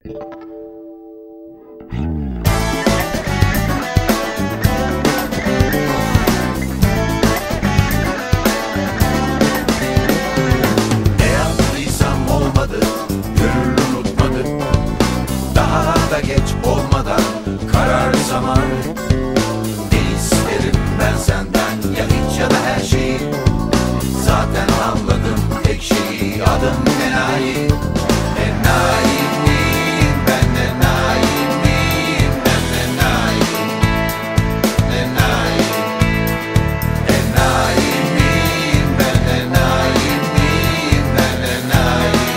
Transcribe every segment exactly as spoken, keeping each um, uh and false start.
Ne yaptıysam olmadı, gönül unutmadı. Daha da geç olmadan karar zamanı. Ne isterim ben senden, ya hiç ya da her şeyi. Zaten anladım tek şeyi, adım enayi. Enayi miyim ben, enayi miyim ben, enayi. Enayi. Enayi miyim ben, enayi miyim ben, enayi.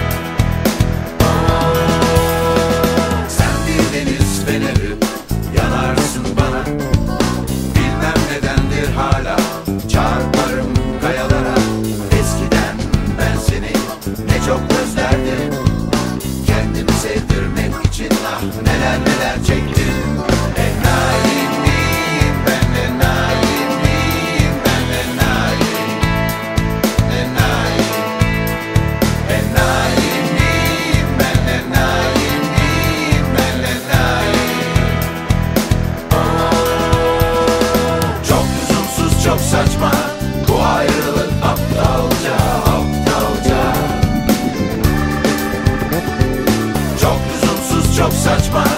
Sen bir deniz feneri, yanarsın bana. Bilmem nedendir hala çarparım kayalara. Eskiden ben seni ne çok özlerdim. Kendimi sevdirmek için ah neler neler çektim. Enayi miyim ben, enayi miyim ben, enayi. Enayi. Enayi miyim ben, enayi miyim ben, enayi. Çok lüzumsuz, çok saçma bu ayrılık, aptalca, aptalca. Çok lüzumsuz, çok saçma